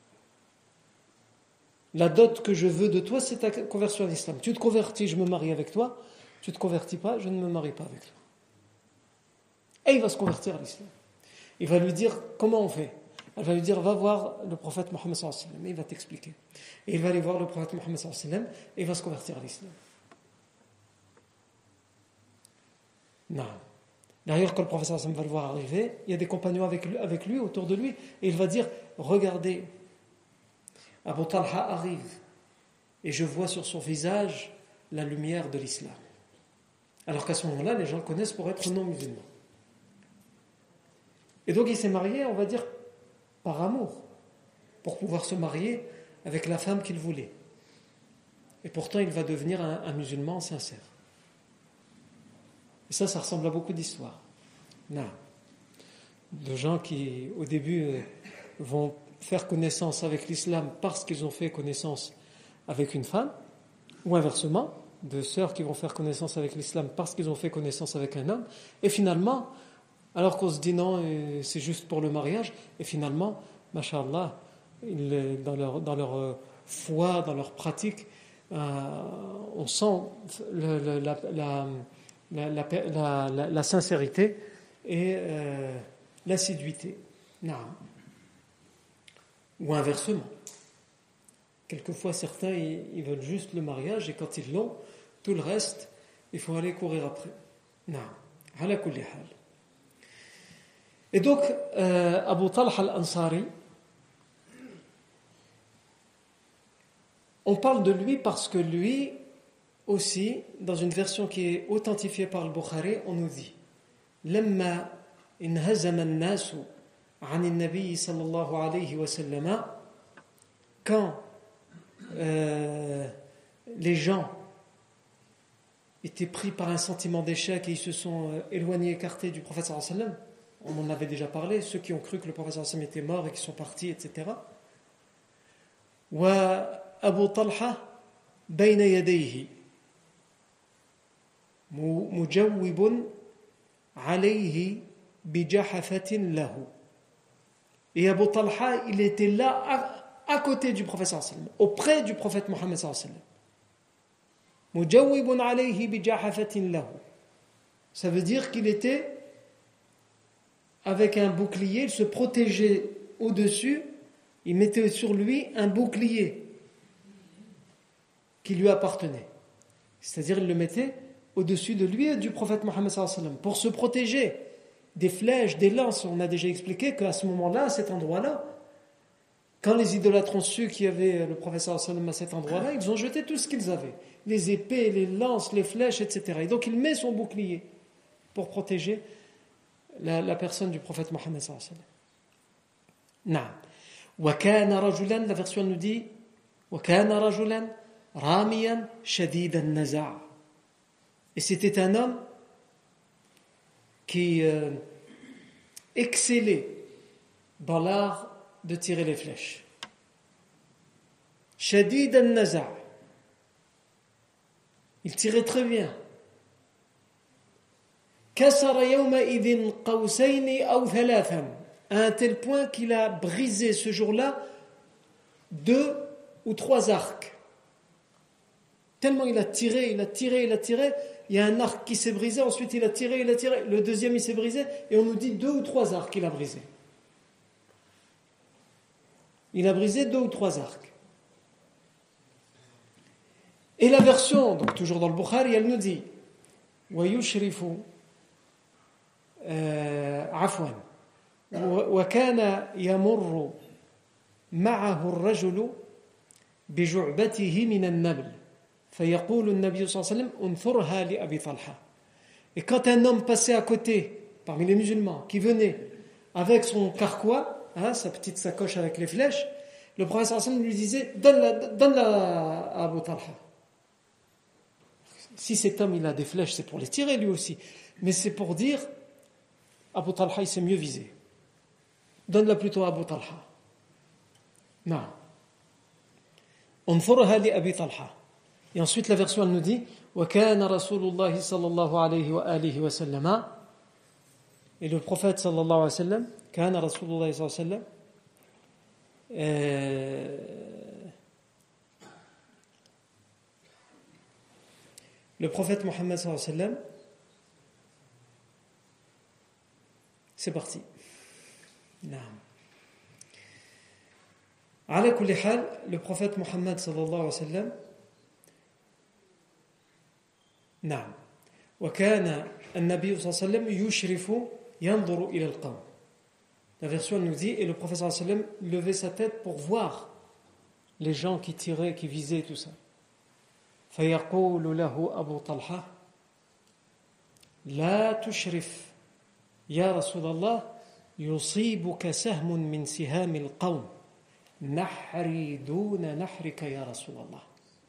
La dot que je veux de toi, c'est ta conversion en islam. Tu te convertis, je me marie avec toi. Tu ne te convertis pas, je ne me marie pas avec toi. Et il va se convertir à l'islam. Il va lui dire: comment on fait? Elle va lui dire: va voir le prophète Mohammed sallallahu alayhi wa sallam. Et il va t'expliquer. Et il va aller voir le prophète Mohammed sallallahu alayhi wa sallam et il va se convertir à l'islam. Non. D'ailleurs, quand le prophète sallallahu alayhi wa sallam va le voir arriver, il y a des compagnons avec lui, autour de lui, et il va dire: regardez, Abu Talha arrive, et je vois sur son visage la lumière de l'islam. Alors qu'à ce moment-là, les gens le connaissent pour être non musulman. Et donc il s'est marié, on va dire, par amour, pour pouvoir se marier avec la femme qu'il voulait. Et pourtant, il va devenir un musulman sincère. Et ça ressemble à beaucoup d'histoires. Non. De gens qui, au début, vont faire connaissance avec l'islam parce qu'ils ont fait connaissance avec une femme, ou inversement, de sœurs qui vont faire connaissance avec l'islam parce qu'ils ont fait connaissance avec un homme, et finalement, alors qu'on se dit non, c'est juste pour le mariage, et finalement, masha'Allah, dans leur foi, dans leur pratique, on sent la sincérité et l'assiduité. Non. Ou inversement. Quelquefois, certains, ils veulent juste le mariage, et quand ils l'ont, tout le reste, il faut aller courir après. Non. Ala kulli hal. Et donc, Abu Talha al-Ansari, on parle de lui parce que lui aussi, dans une version qui est authentifiée par le Bukhari, on nous dit: Lamma inhazama an-nasu 'an an-nabi sallallahu alayhi wa sallam, quand les gens étaient pris par un sentiment d'échec et ils se sont éloignés, écartés du prophète sallallahu alayhi wa sallam, on en avait déjà parlé, ceux qui ont cru que le prophète sallallahu alayhi wa sallam était mort et qui sont partis, etc. Wa Abu Talha bayna yadayhi mujawwibun alayhi bijahafatin lahu. Et Abu Talha, il était là à côté du prophète sallallahu alayhi wa sallam, auprès du prophète Mohammed sallallahu alayhi wa sallam. Mujawwibun alayhi bijahafatin lahu. Ça veut dire qu'il était avec un bouclier, il se protégeait au-dessus, il mettait sur lui un bouclier qui lui appartenait. C'est-à-dire, il le mettait au-dessus de lui et du prophète Mohammed sallallahu alayhi wa sallam pour se protéger des flèches, des lances. On a déjà expliqué qu'à ce moment-là, à cet endroit-là, quand les idolâtres ont su qu'il y avait le prophète sallallahu alayhi wa sallam à cet endroit-là, ils ont jeté tout ce qu'ils avaient, les épées, les lances, les flèches, etc. Et donc il met son bouclier pour protéger la personne du prophète Mohammed sallallahu alayhi wa sallam. Wa kana rajulan, la version nous dit وكان رجلا راميا شديد النزع. Et c'était un homme qui excellait dans l'art de tirer les flèches. شديد النزع. Il tirait très bien. كسر يومئذ قوسين أو ثلاثا. À un tel point qu'il a brisé ce jour-là 2 ou 3 arcs. Tellement il a tiré, il y a un arc qui s'est brisé, ensuite il a tiré, le deuxième il s'est brisé, et on nous dit 2 ou 3 arcs qu'il a brisé. Il a brisé 2 ou 3 arcs. Et la version, donc toujours dans le Bukhari, elle nous dit وَيُشْرِفُ عَفْوًا وَكَانَ يَمُرُّ معه الرجل بجعبته من النبل فيقول النبي صلى الله عليه وسلم انثرها لأبي طلحة. Et quand un homme passait à côté parmi les musulmans qui venait avec son carquois, sa petite sacoche avec les flèches, le prophète sallallahu alayhi wa sallam lui disait donne-la à Abu Talha. Si cet homme il a des flèches, c'est pour les tirer lui aussi, mais c'est pour dire Abu Talha il sait mieux viser, donne-la plutôt à Abu Talha. Non. انظرها لأبي طلحة. Et ensuite la version elle nous dit وكان رسول الله صلى الله عليه وآله وسلم. Et le prophète صلى الله عليه وسلم كان رسول الله صلى الله عليه وسلم le prophète Mohammed صلى الله عليه وسلم. C'est parti. نعم. على كل حال, le prophète Mohammed صلى الله عليه وسلم نعم وكان النبي صلى الله عليه وسلم يشرف ينظر إلى القوم. La version nous dit et le prophète صلى الله عليه وسلم levait sa tête pour voir les gens qui tiraient, qui visaient tout ça. فيقول له أبو طلحة لا تشرف يا رسول الله يصيبك سهم من سهام القوم نحري دون نحرك يا رسول الله.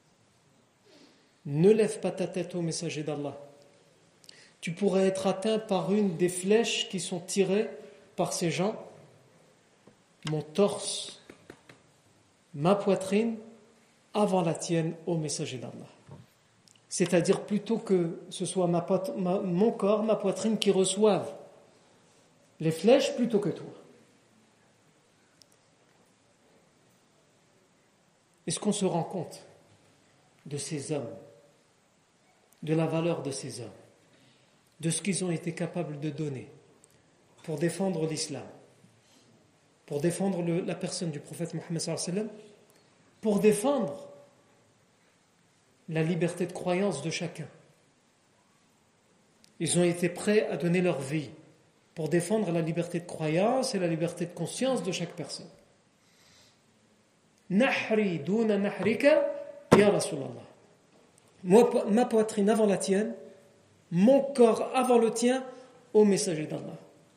Ne lève pas ta tête au messager d'Allah. Tu pourrais être atteint par une des flèches qui sont tirées par ces gens. Mon torse, ma poitrine, avant la tienne, ô messager d'Allah. C'est-à-dire plutôt que ce soit mon corps, ma poitrine qui reçoivent les flèches plutôt que toi. Est-ce qu'on se rend compte de ces hommes, de la valeur de ces hommes, de ce qu'ils ont été capables de donner pour défendre l'islam, pour défendre la personne du prophète Mohammed sallallahu alayhi wa sallam, pour défendre la liberté de croyance de chacun. Ils ont été prêts à donner leur vie pour défendre la liberté de croyance et la liberté de conscience de chaque personne. Nahri duna nahrika ya Rasulallah. Moi, ma poitrine avant la tienne, mon corps avant le tien, ô messager d'Allah.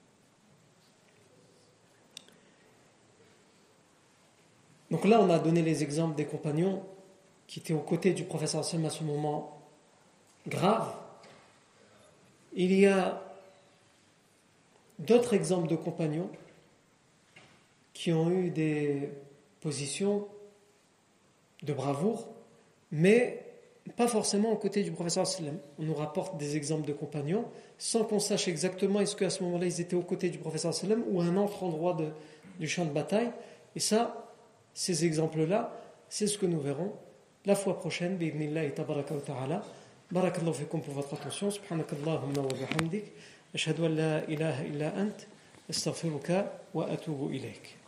Donc là, on a donné les exemples des compagnons qui étaient aux côtés du prophète sallallahu alayhi wa sallam à ce moment grave. Il y a d'autres exemples de compagnons qui ont eu des positions de bravoure, mais pas forcément aux côtés du prophète sallallahu alayhi wa sallam. On nous rapporte des exemples de compagnons sans qu'on sache exactement est-ce qu'à ce moment-là ils étaient aux côtés du prophète sallallahu alayhi wa sallam ou à un autre endroit du champ de bataille. Et ça, ces exemples-là, c'est ce que nous verrons la fois prochaine, bi'idhnillahi tabaraka wa ta'ala. Barakallahu fikum pour votre attention. Subhanakallahumma wa bihamdik. Ashhadu an la ilaha illa ant. Astaghfiruka wa atubu ilayk.